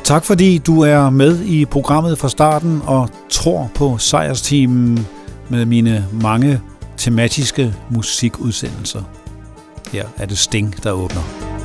Tak fordi du er med i programmet fra starten og tror på sejrsteamen med mine mange tematiske musikudsendelser. Her er det Sting, der åbner.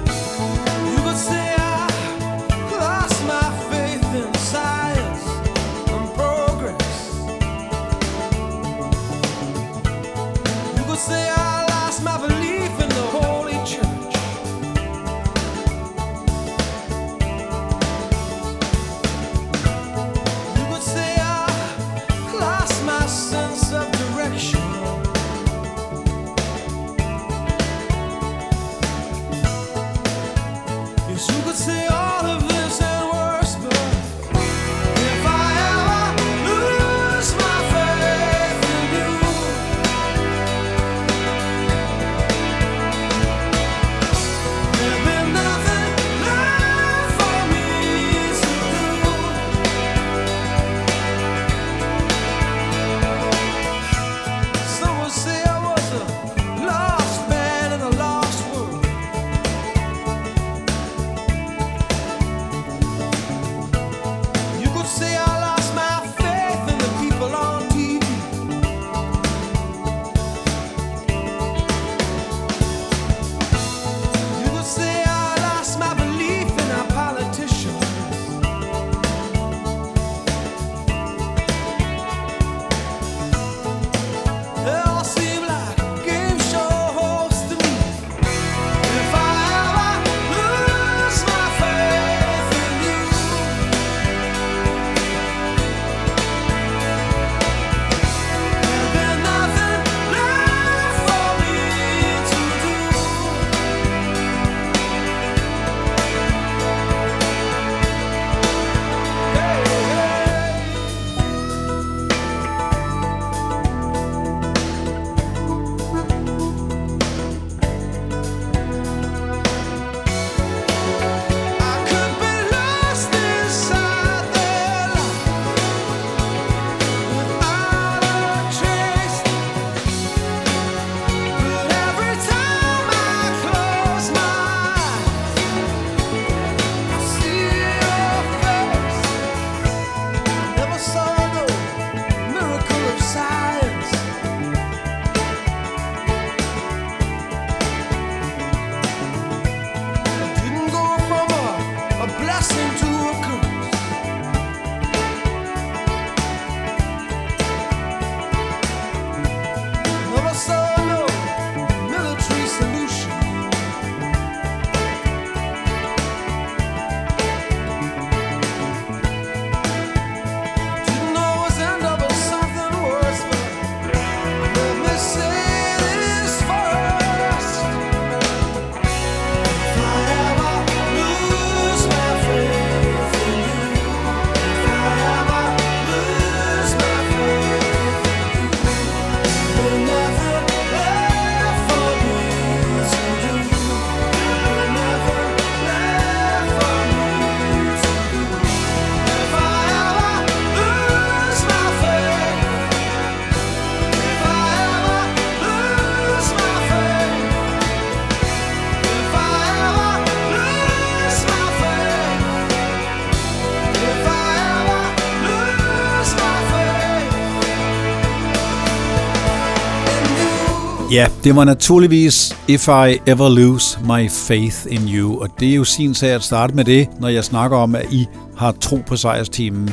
Ja, det var naturligvis If I Ever Lose My Faith in You, og det er jo sin sag at starte med det, når jeg snakker om, at I har tro på sejrsteamen.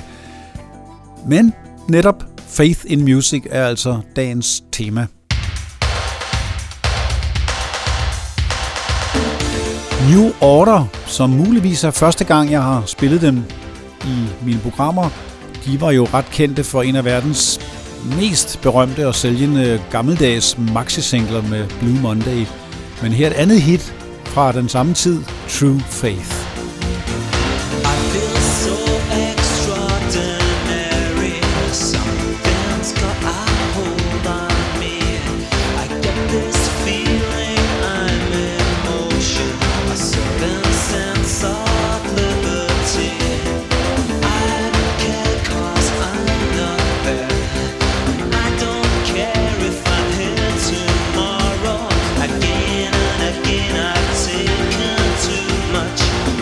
Men netop Faith in Music er altså dagens tema. New Order, som muligvis er første gang, jeg har spillet dem i mine programmer, de var jo ret kendte for en af verdens mest berømte og sælgende gammeldags maxi-singler med Blue Monday. Men her et andet hit fra den samme tid, True Faith. Again and again I've taken too much.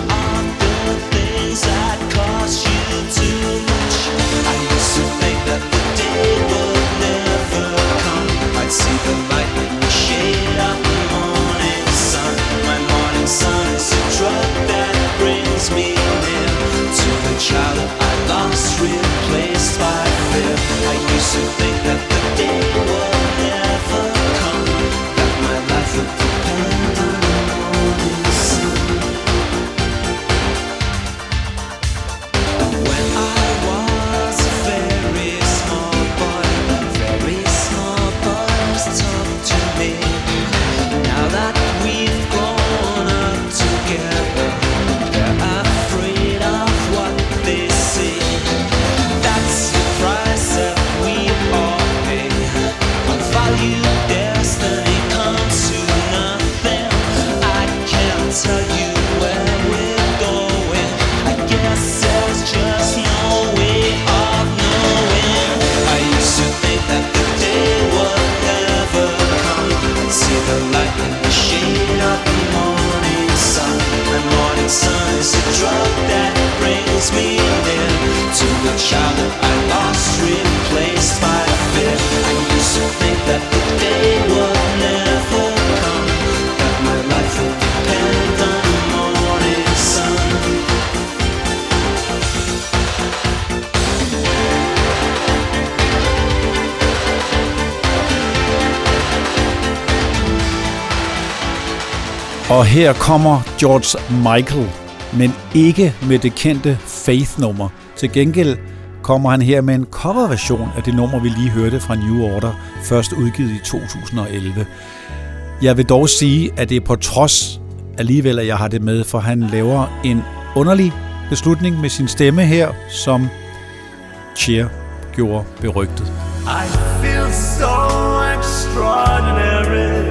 Og her kommer George Michael, men ikke med det kendte Faith-nummer. Til gengæld kommer han her med en coverversion af det nummer, vi lige hørte fra New Order, først udgivet i 2011. Jeg vil dog sige, at det er på trods alligevel, at jeg har det med, for han laver en underlig beslutning med sin stemme her, som Cher gjorde berygtet. I feel so extraordinary.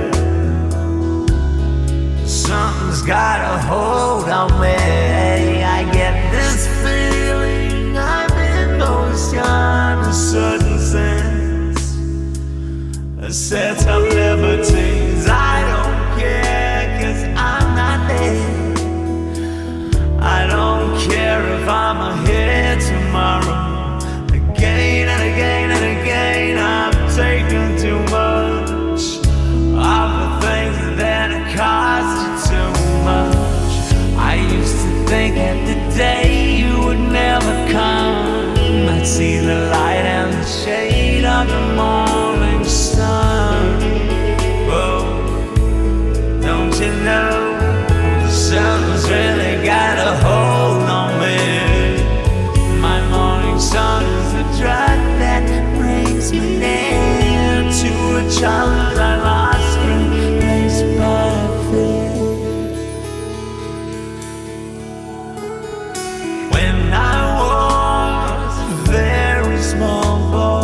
Something's got a hold on me. I get this feeling I'm in ocean, a certain sense, a set of liberties. I don't care, 'cause I'm not there. I don't care if I'm here tomorrow. Again and again and again, I've taken too much of the things that cost you too much. I used to think that the day you would never come, I'd see the light and the shade of the morning sun. Oh, don't you know, the sun's really got a hold on me. My morning sun is the drug that brings me near to a child I lost in place by fear. When I was a very small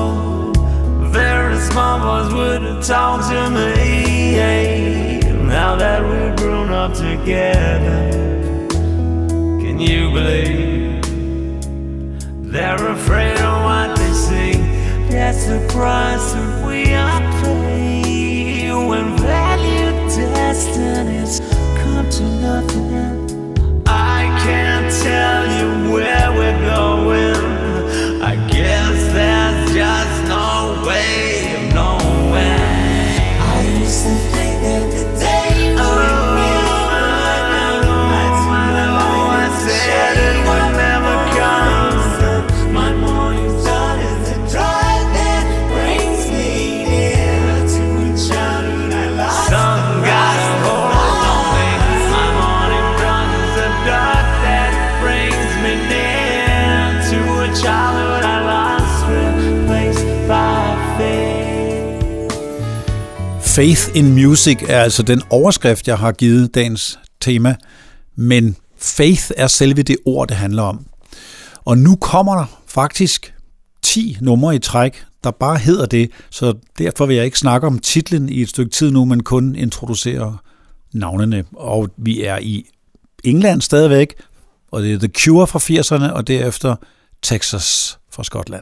boys would have talked to me. Now that we're grown up together, can you believe they're afraid of what they see? That's the price that we are paying when value destinies come to nothing. I can't tell you where we're going. I guess there's just no way of knowing. I used to think that the day you would I said it would never come. My morning sun is the drive that brings me near to a childhood I lost. Some got a hold on me. My morning sun is the dark that brings me near to a childhood I lost, replaced by faith. Faith in Music er altså den overskrift, jeg har givet dagens tema, men faith er selve det ord, det handler om. Og nu kommer der faktisk 10 numre i træk, der bare hedder det, så derfor vil jeg ikke snakke om titlen i et stykke tid nu, men kun introducere navnene. Og vi er i England stadigvæk, og det er The Cure fra 80'erne, og derefter Texas fra Skotland.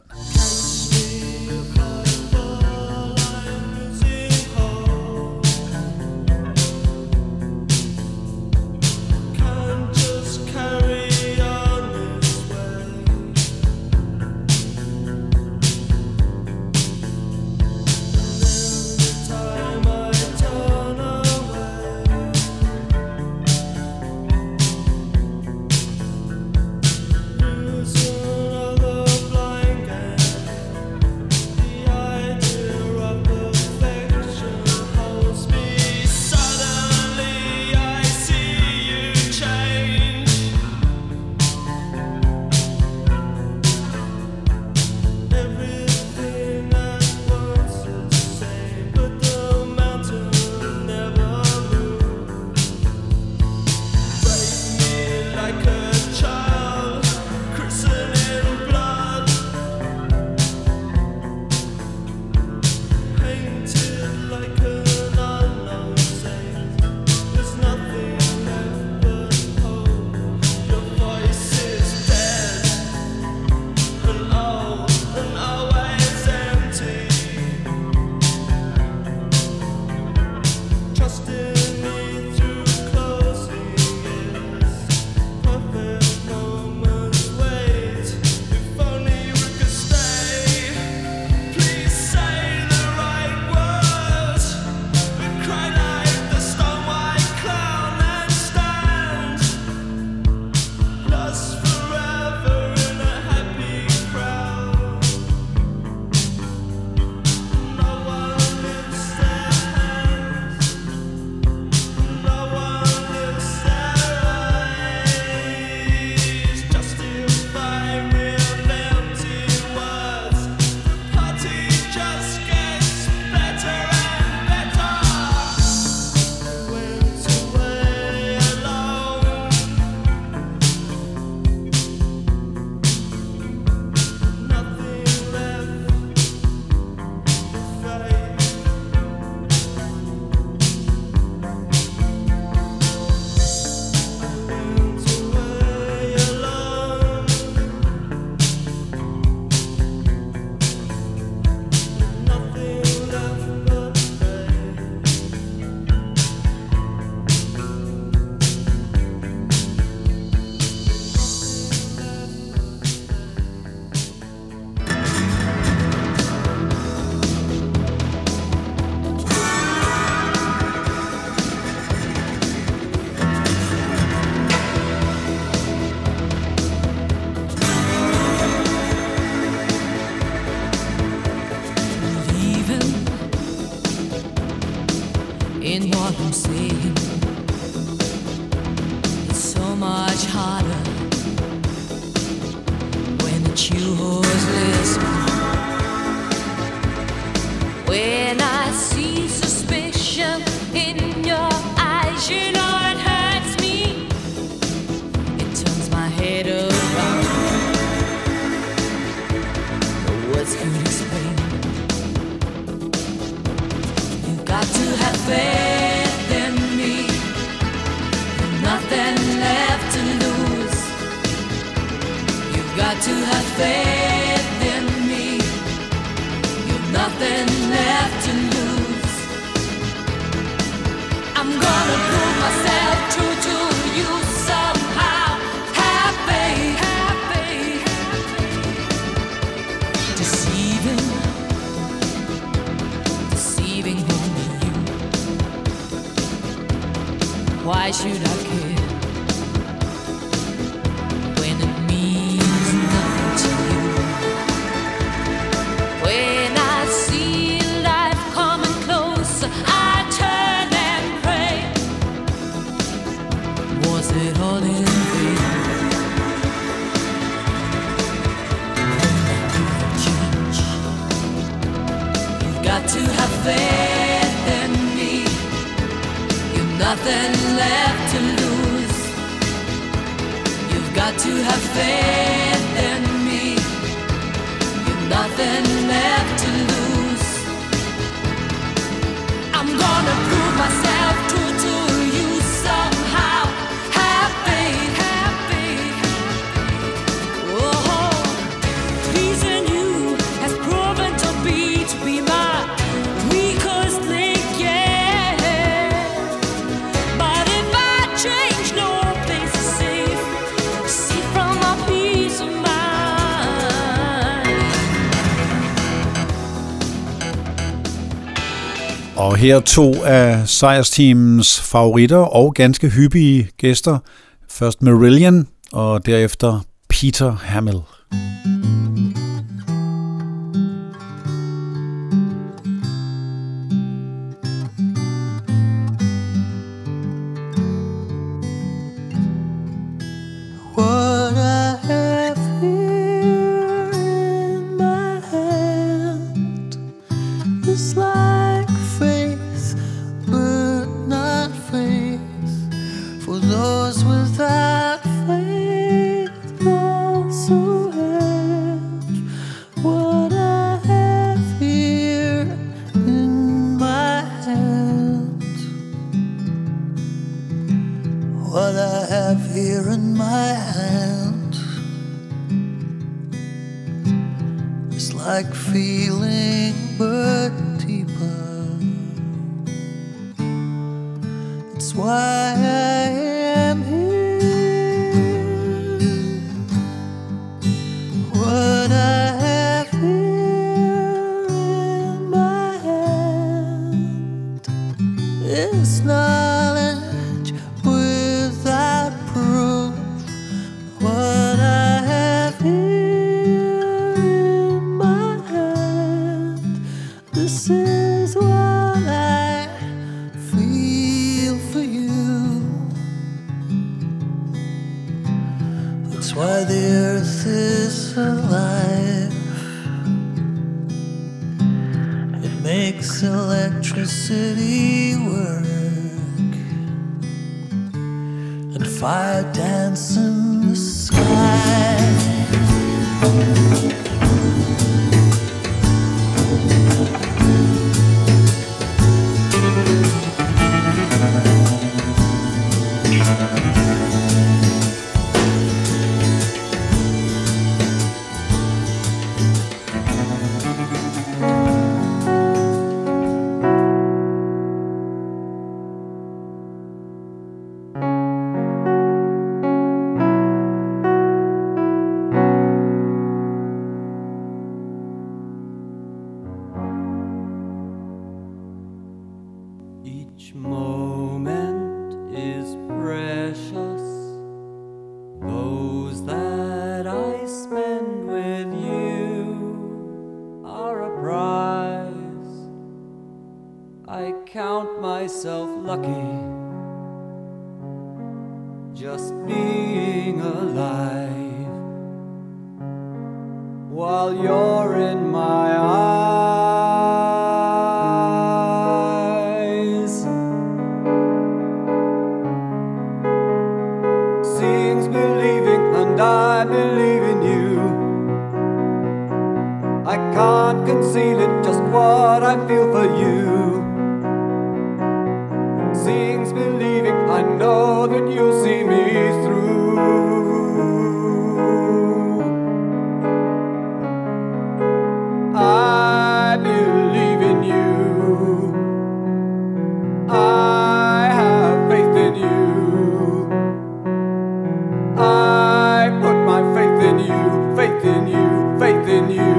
Losing all the blind in what I'm saying. It's so much harder when it's you who's listening. When I see suspicion in your eyes, you know it hurts me. It turns my head around. No words could explain. You've got to have faith in me. Nothing left to lose. You've got to have faith in me. You've nothing left to lose. I'm gonna prove myself true to you somehow. Have faith, have faith. Deceiving only you. Why should I care when it means nothing to you? When I see life coming closer, I turn and pray. Was it all in vain? Change. You've got to have faith in me. You've nothing left to lose. You've got to have faith in me. You've nothing left to lose. I'm gonna prove myself true to you somehow. Have faith, have faith. Oh, pleasing you has proven to be my weakest link, yeah. But if I change, no place is safe. See from my peace of mind. Og her to af sejrsteamens favoritter og ganske hyppige gæster. Først Marillion og derefter Peter Hamill. What I have here in my hand is like faith, but not faith. For those without faith also have what I have here in my hand. What I have here in my hand is like feeling, but deeper. It's why I am here. What I have here in my hand is knowledge without proof. What I have here in my hand, this is what I feel for you. That's why the earth is alive. It makes electricity work and fire dance in the sky. Each moment is precious. Those that I spend with you are a prize I count count myself lucky just being alive while you're in my eyes. Seeing's believing, and I believe in you. I can't conceal it, just what I feel for you. Seeing's believing, I know that you'll see me through. I believe in you. I have faith in you. I put my faith in you, faith in you, faith in you.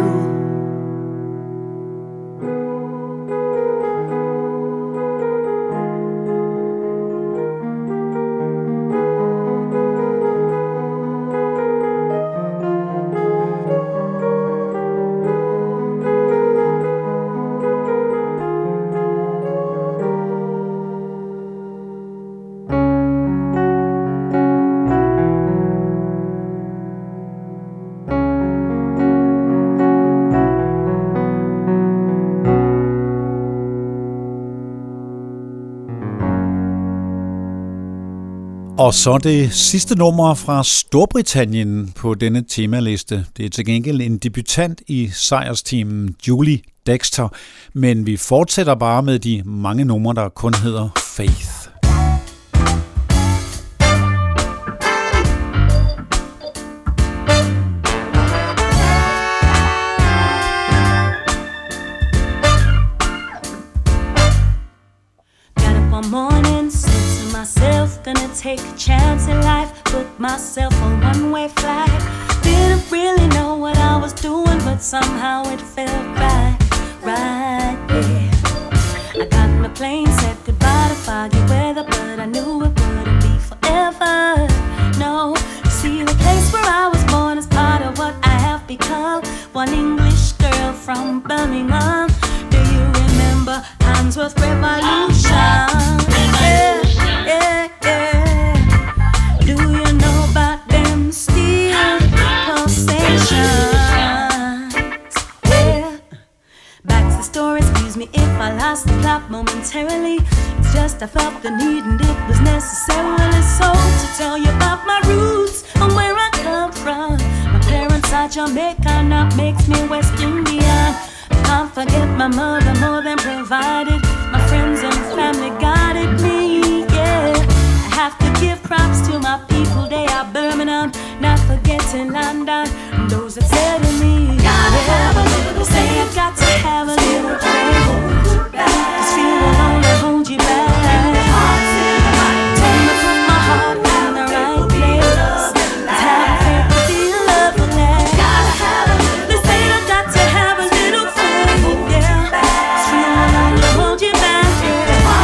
Og så det sidste nummer fra Storbritannien på denne temaliste. Det er til gengæld en debutant i sejrsteamen, Julie Dexter, men vi fortsætter bare med de mange numre, der kun hedder Faith. Gonna take a chance in life, put myself on one-way flight. Didn't really know what I was doing, but somehow it felt right, yeah. I got my plane, said goodbye to foggy weather, but I knew it wouldn't be forever. No, see, the place where I was born is part of what I have become. One English girl from Birmingham. Do you remember Handsworth Revolution? Yeah. Do you know about them steel pulsations? Yeah. Back to the story, excuse me if I lost the plot momentarily. It's just I felt the need and it was necessarily so to tell you about my roots and where I come from. My parents are Jamaican, that makes me West Indian. I can't forget my mother, more than provided. My friends and family guided me. Have to give props to my people, they are Birmingham, not forgetting London, and those that said to me, gotta have a little say you got to have a little faith. This feeling will only hold you back. Tell me to put my heart in the right place. Have faith to feel love will last. They say I got to have a little faith, yeah. This feeling will only hold you back, yeah.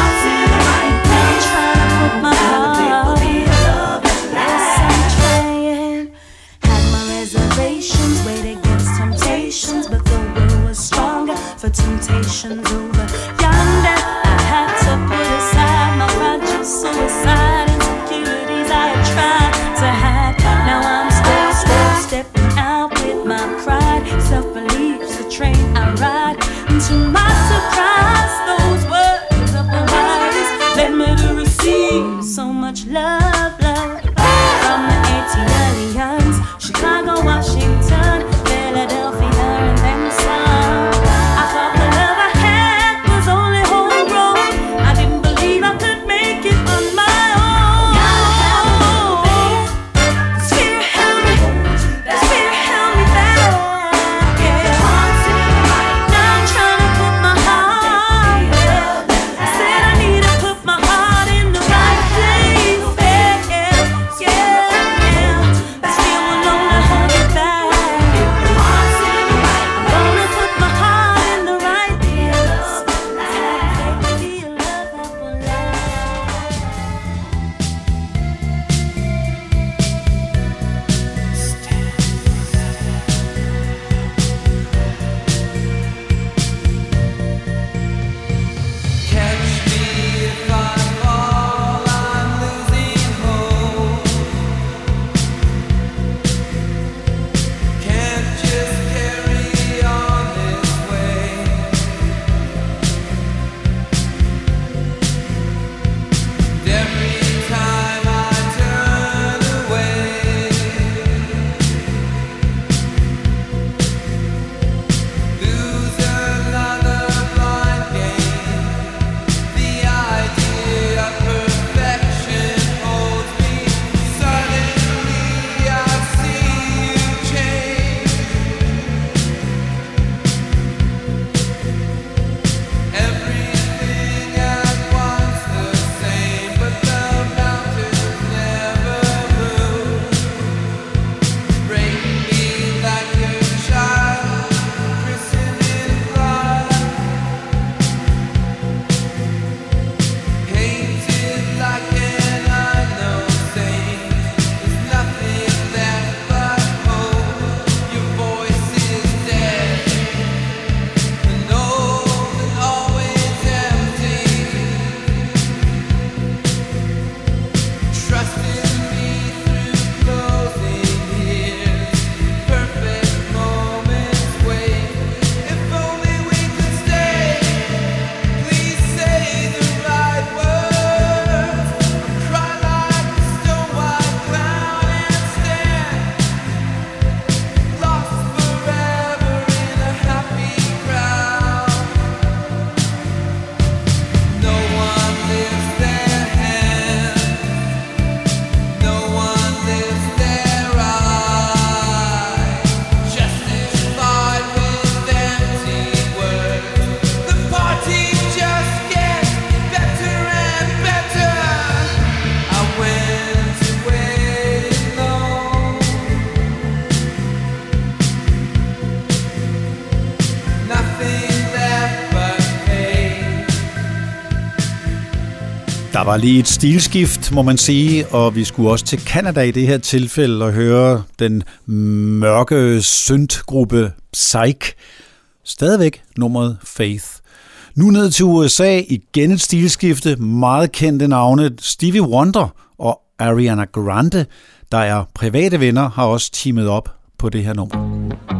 Der var lige et stilskift, må man sige, og vi skulle også til Canada i det her tilfælde og høre den mørke syntgruppe Psych. Stadigvæk nummeret Faith. Nu ned til USA, igen et stilskifte, meget kendte navne Stevie Wonder og Ariana Grande, der er private venner, har også teamet op på det her nummer.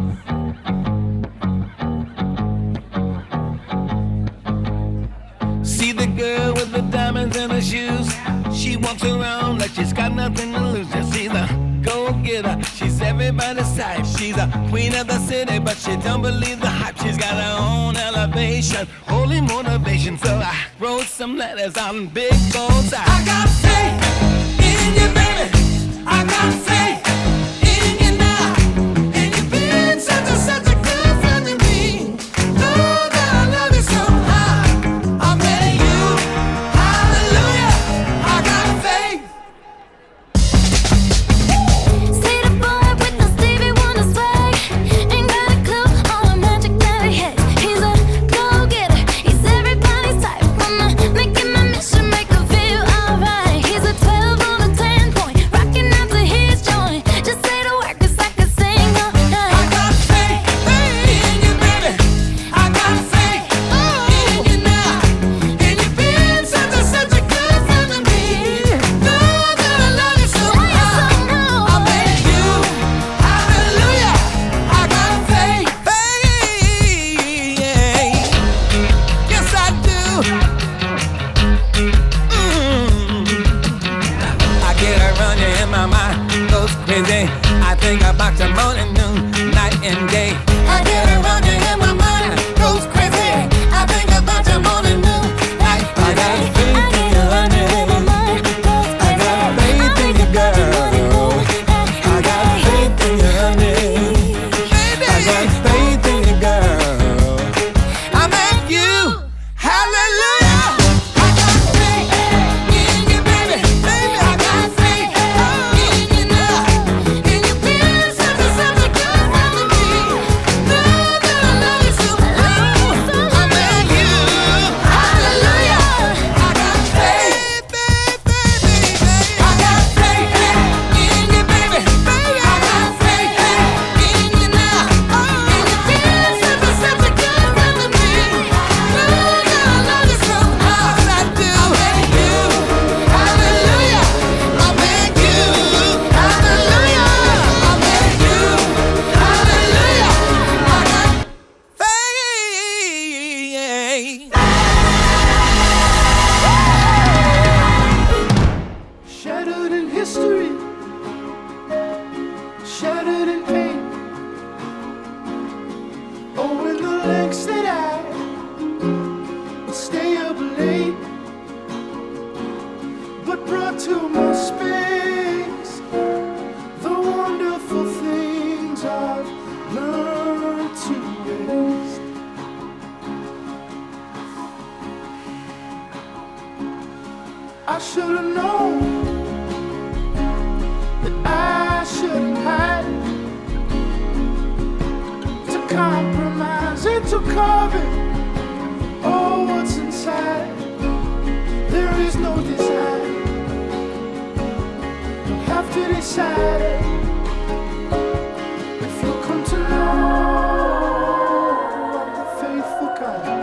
See the girl with the diamonds in her shoes. She walks around like she's got nothing to lose. Just see the go-getter. She's everybody's type. She's a queen of the city, but she don't believe the hype. She's got her own elevation, holy motivation. So I wrote some letters on big goals. I got faith in you, baby. I got faith in you now. And you've been such a good friend to me. Know that I love you so high. I'm betting you, hallelujah. I got faith. See the boy with the Stevie Wonder swag. Ain't got a clue all the magic that he has. He's a go-getter. He's everybody's type. Wanna make him a mission, make him feel alright. He's a 12 on a 10 point, rocking out to his joint. Just say the word 'cause I can sing all night. I got faith in you, baby. I got faith in you now. And you've been such a good friend to me. Know that I love you so much. I bet you, hallelujah. I got faith. Yes, I do. I get a running in my mind, goes crazy. I think about the morning, noon, night and day. I get a running in my mind, goes crazy. I think about the morning, noon, night. I got faith in you, honey. I got faith in you, girl. I got faith in you, honey. I got faith in you, girl. I'm at you, hallelujah. I got faith in you, baby. I got faith in you now. And you've been such a good friend to me. Know that I love you so much. I'm at you, hallelujah. I got faith, baby. I got faith in you, baby. I got faith in you now. And you've been such a good friend to me. Know that I love you so much. I do. I'm at you, hallelujah. I'm at you, hallelujah. I'm at you, hallelujah. I got faith. Shattered in history, shattered in pain. Oh, in the lengths that I would stay up late, but brought to my space the wonderful things I've learned to waste. I should have known that I shouldn't hide, to compromise and to cover all what's inside. There is no desire. You have to decide if you come to know I'm the faithful kind.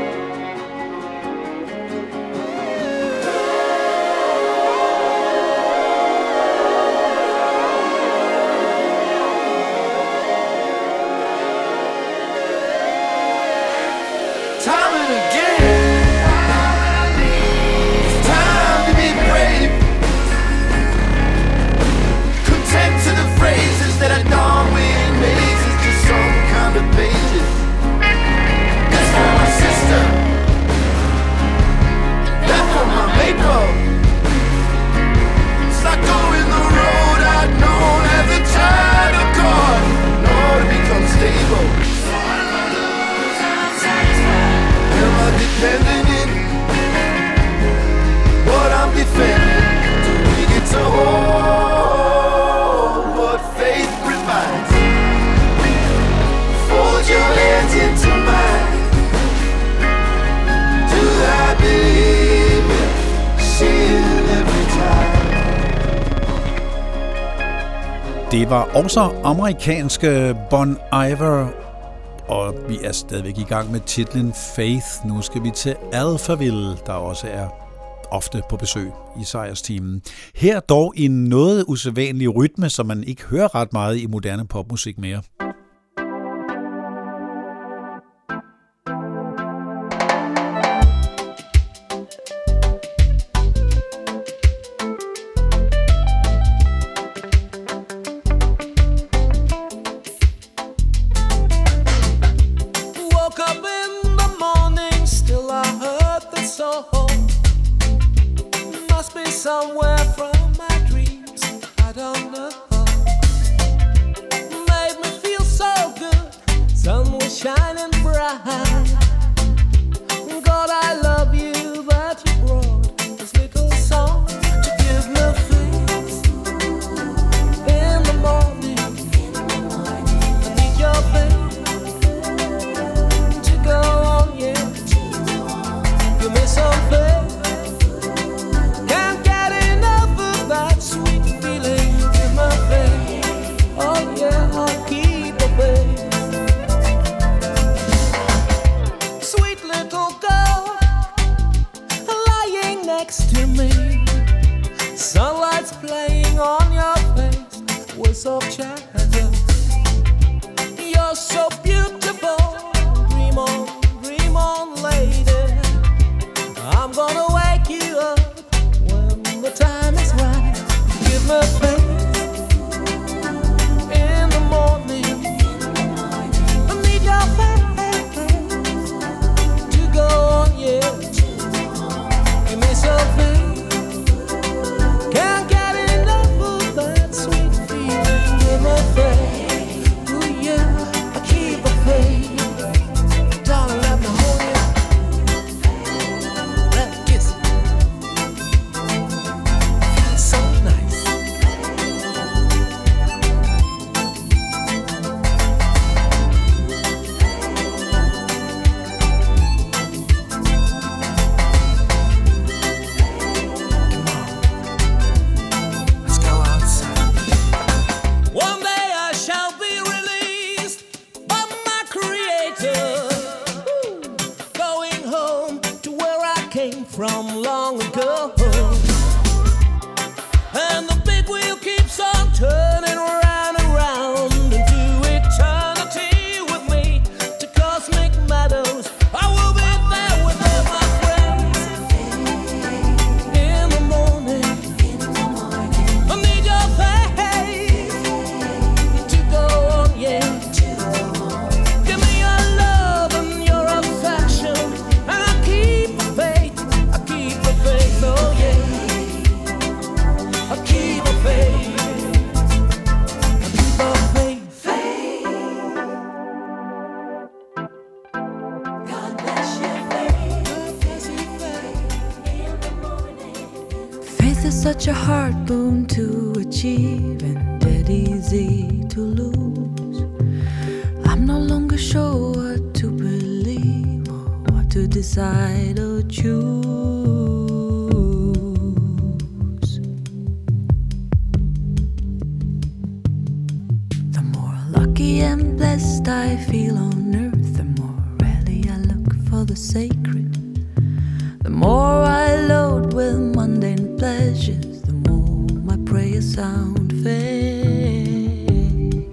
Time and again, it's time to be brave. Det var også amerikanske Bon Iver, og vi er stadigvæk i gang med titlen Faith. Nu skal vi til Alphaville, der også er ofte på besøg i sejrsteamen. Her dog i en noget usædvanlig rytme, som man ikke hører ret meget i moderne popmusik mere. Somewhere from my dreams, I don't know. Made me feel so good, sun was shining bright. God, I love you that you brought this little song to give me things in the morning. I need your faith to go on, yeah. Give me some faith. Sunlight's playing on your face with soft shadow. You're so beautiful. Dream on, lady. I'm gonna wake you up when the time is right. Give me faith in the morning. I need your faith to go on, yeah. Give me some faith. Can't get enough of that sweet feeling. Give me faith, ooh yeah, I keep a faith. Darling, let me hold you, let me kiss you. So nice. From long ago, and the big wheel keeps on turning round and round into eternity with me to cosmic meadows. I will be there with all my friends in the morning. I need your faith to go on, yeah. Give me your love and your affection, and I'll keep the faith. Oh yeah, I keep a faith. I keep a faith. God bless you, faith. Faith is such a hard boon to achieve and dead easy to lose. I'm no longer sure what to believe or what to decide or choose. And blessed I feel on earth, the more rarely I look for the sacred. The more I load with mundane pleasures, the more my prayers sound fake.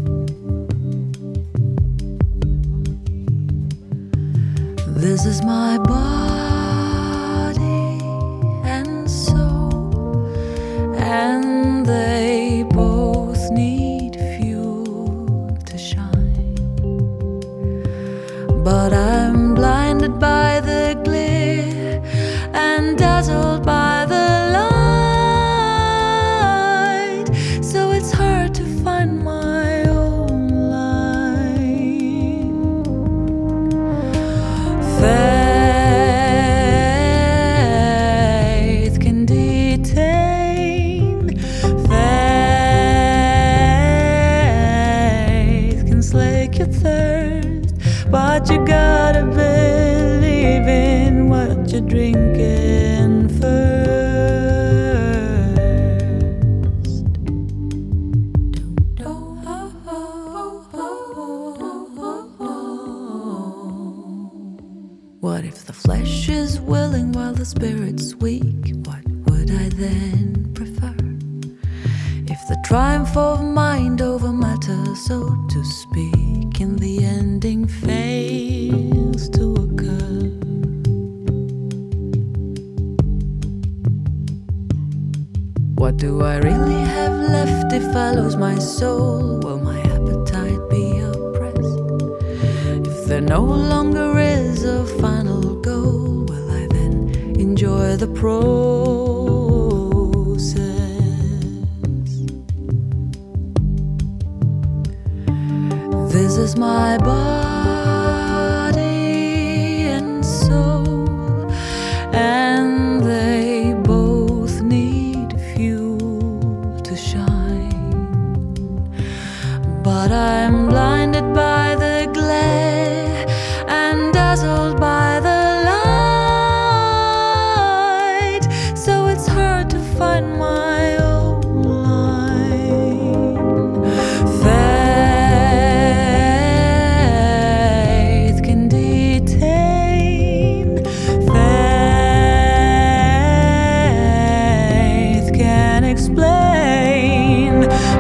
This is my body and soul, and they both need but I'm blinded by the glare and dazzled by the light, so it's hard to find my own line. Faith can detain, faith can slake your thirst, but you gotta believe in what you're drinking first. spirit's weak, what would I then prefer? If the triumph of mind over matter, so to speak, in the ending fails to occur. What do I really have left if I lose my soul? Will my appetite be oppressed? If there no longer is a final goal, will I then enjoy the process? This is my body and soul, and they both need fuel to shine. But I'm blinded by the glare and dazzled by the light, so it's hard to find my own line. Faith can detain, faith can explain,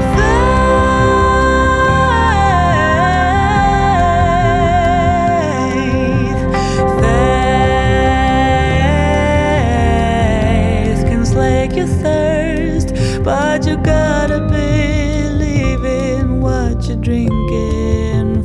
faith can slake your thirst, but you gotta believe in what you're drinking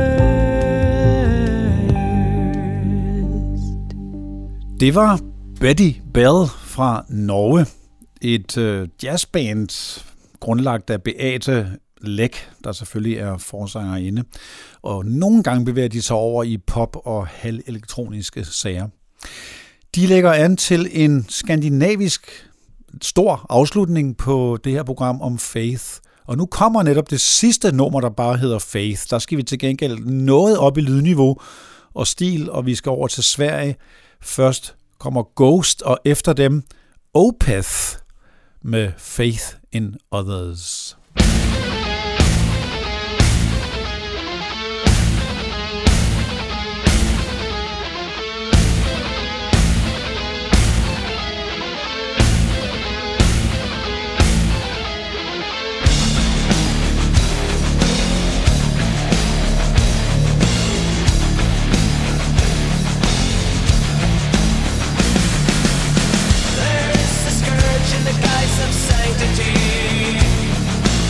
first. Det var Betty Bell fra Norge. Et jazzband grundlagt af Beate Læk, der selvfølgelig er forsangerinde. Og nogle gange bevæger de sig over i pop- og halvelektroniske sager. De lægger an til en skandinavisk stor afslutning på det her program om Faith. Og nu kommer netop det sidste nummer, der bare hedder Faith. Der skal vi til gengæld noget op i lydniveau og stil, og vi skal over til Sverige. Først kommer Ghost, og efter dem Opeth med Faith in Others. There is a scourge in the guise of sanctity.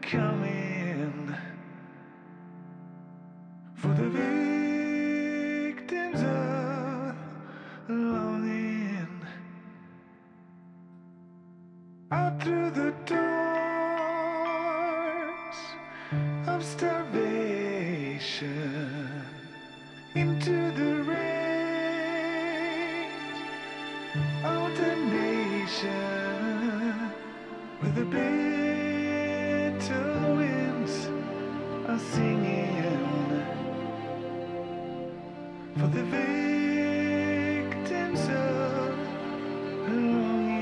coming for the victims of longing. Out through the doors of starvation, into the rain of the nation, where the bitter winds are singing for the victims of longing.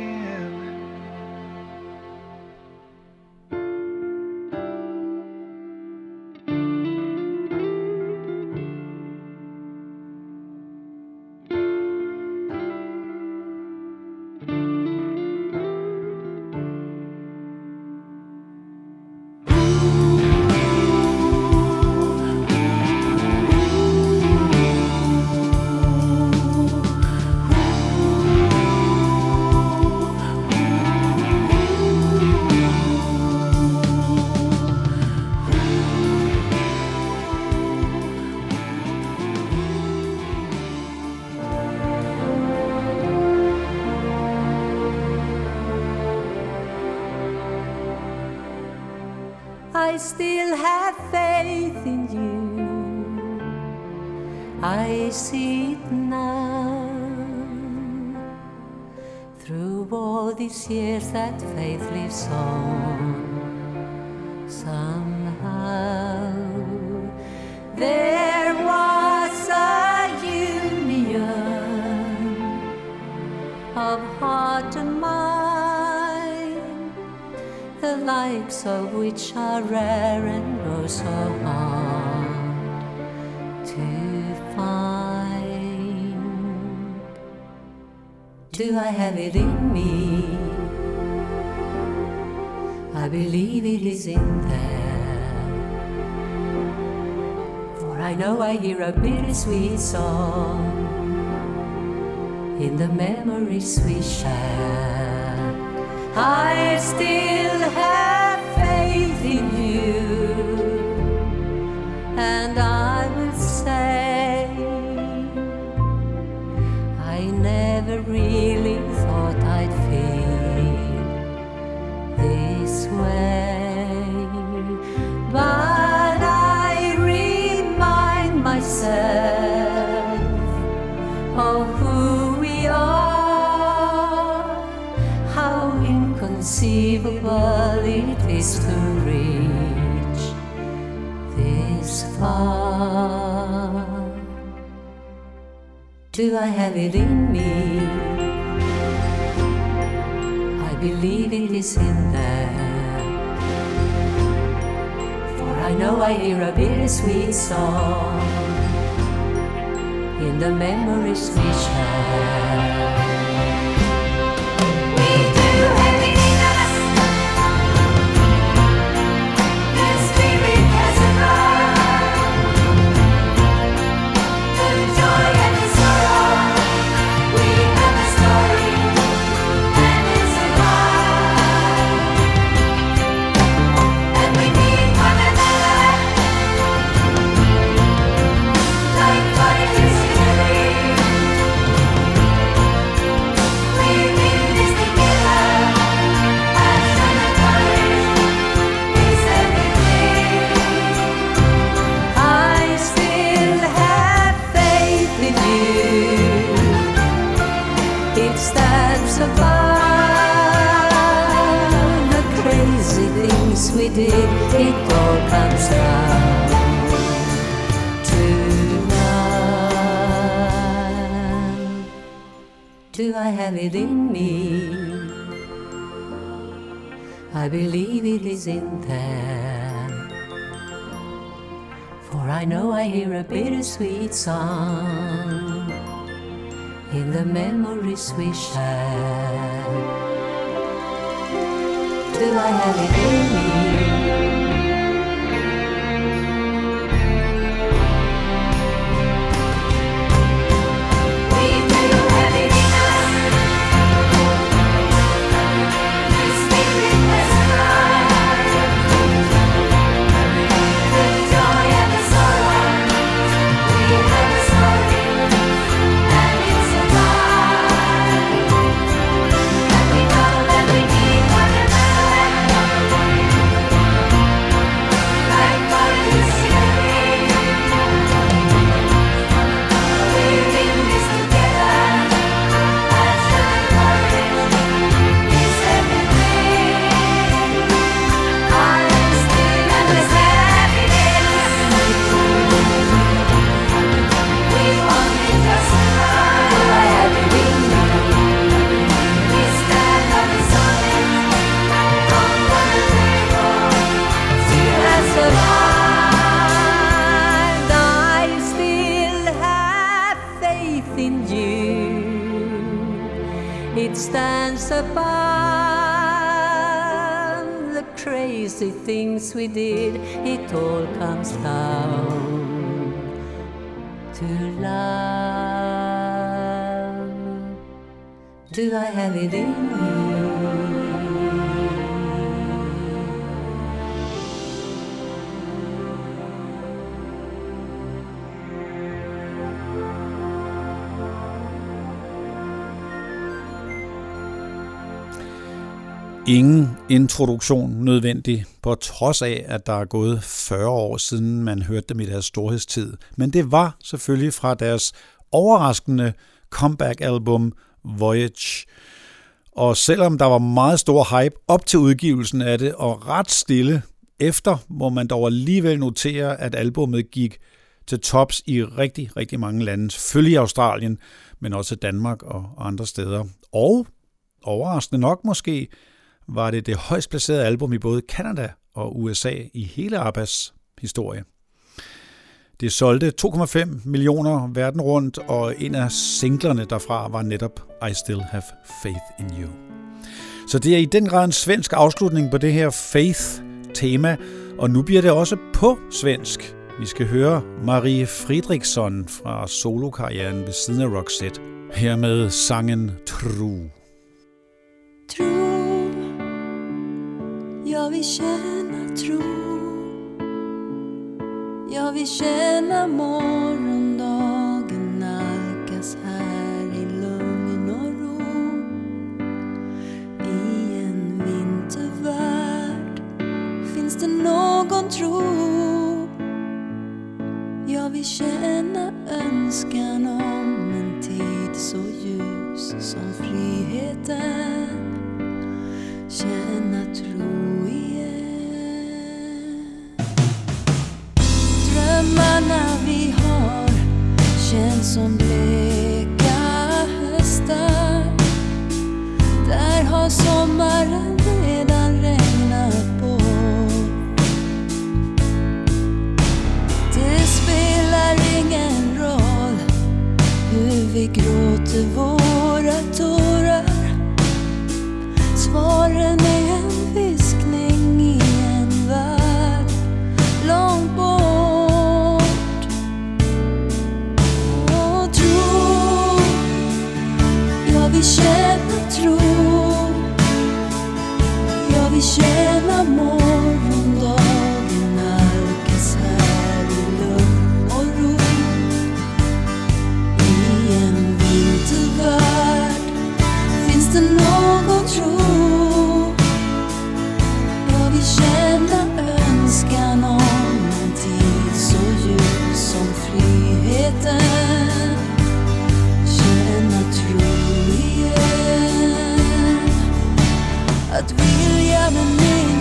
I still have faith in you. I see it now. Through all these years that faith lives on. Somehow there was a union of heart and mind, the likes of which are rare and oh so hard to find. Do I have it in me? I believe it is in there, for I know I hear a bittersweet song in the memories we share. I still have faith in you, and I will say I never really thought I'd feel this way, but I remind myself of who we are, how inconceivable it is to reach this far. Do I have it in me? I believe it is in there, for I know I hear a bittersweet song in the memories we share. We do have it in us. The spirit has arrived. The joy and the sorrow. We have a story, and it's alive. And we need one another, like particles in a ring. We need this together. Passion and courage is everything. I still have faith in you. It stands above the crazy things we did. It all comes down to love. Do I have it in me? I believe it is in there, for I know I hear a bittersweet song in the memories we share. Do I have it in me? We do have it in us. The spirit has arrived. it stands above the crazy things we did. It all comes down to love. Do I have it in me? Ingen introduktion nødvendig, på trods af, at der er gået 40 år siden man hørte dem i deres storhedstid. Men det var selvfølgelig fra deres overraskende comeback-album Voyage. Og selvom der var meget stor hype op til udgivelsen af det, og ret stille efter, må man dog alligevel notere, at albumet gik til tops i rigtig, rigtig mange lande. Selvfølgelig i Australien, men også Danmark og andre steder. Og overraskende nok måske, var det højst placerede album i både Canada og USA i hele ABBAs historie. Det solgte 2,5 millioner verden rundt, og en af singlerne derfra var netop I Still Have Faith in You. Så det er i den grad en svensk afslutning på det her faith-tema, og nu bliver det også på svensk. Vi skal høre Marie Fredriksson fra solokarrieren ved siden af Roxette, her med sangen Tro. Jag vill känna tro. Jag vill känna morgondagen nalkas här i lugn och ro. I en vintervärld finns det någon tro. Jag vill känna önskan om en tid så ljus som friheten. Känna tro igen. Drömmarna vi har känns som bleka höstar. Där har sommaren redan regnat bort. Det spelar ingen roll hur vi gråter våra tårar. Svaren är en viskning i en värld långt bort. Och tro, jag vill känna tro. Jag vill känna morgondagen nalkas här i lugn och ro. I en vintervärld finns det någon tro. Känna önskan om en tid så ljus som friheten. Känna tro igen. Att vilja med mer.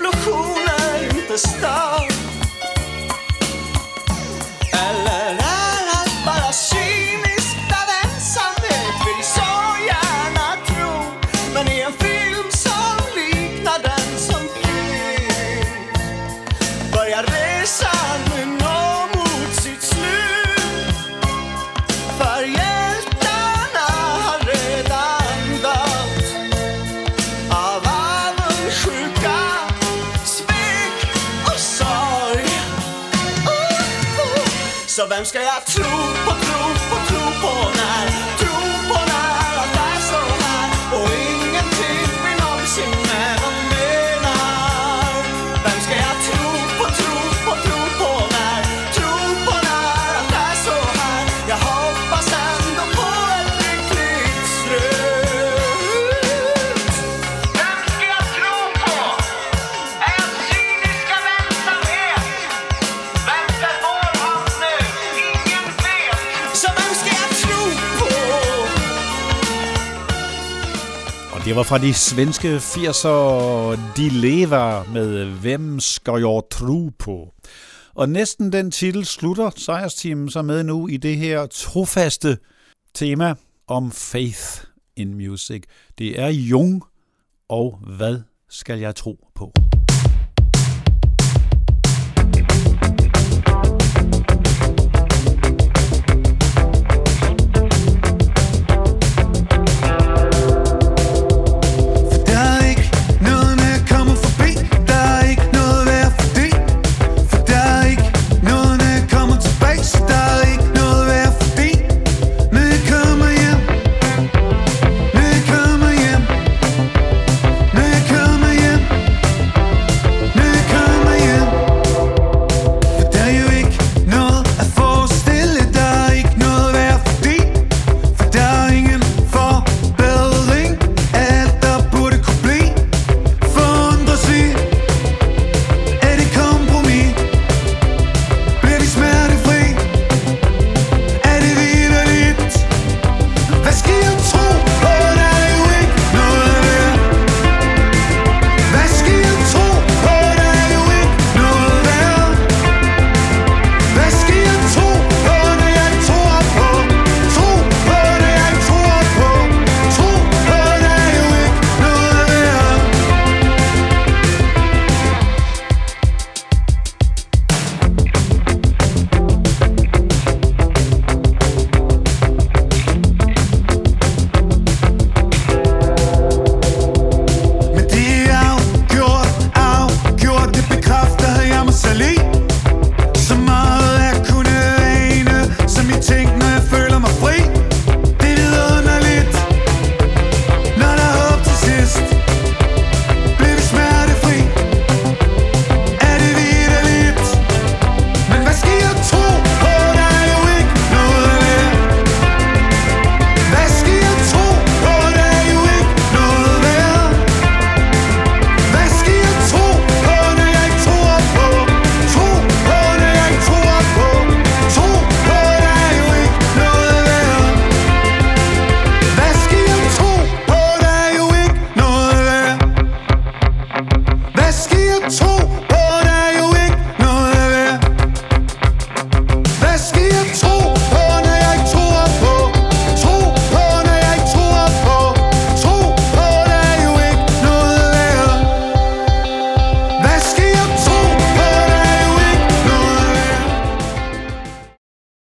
explosioner inte stör. Eller är allt bara cyniskt av ensamhet, vill så gärna tro. Men i en film som liknar den som finns börjar resan nu nå mot sitt slut. För hjältarna har redan dött av avundsjuka, svek och sorg. Så vem ska jag tro på, när allt är så här och ingenting vi någonsin med någon menar? Vem ska jag tro på, när allt är så här? Jag hoppas ändå på ett lyckligt slut. Vem ska jag tro på? Är jag cyniska vänsamhet? Väntar vår hand nu, ingen vet. Så vem ska jag tro på? Og det var fra de svenske 80'er De Lever med Hvem skal jeg tro på? Og næsten den titel slutter sejrsteamen så med nu i det her trofaste tema om faith in music. Det er Jung, og hvad skal jeg tro på?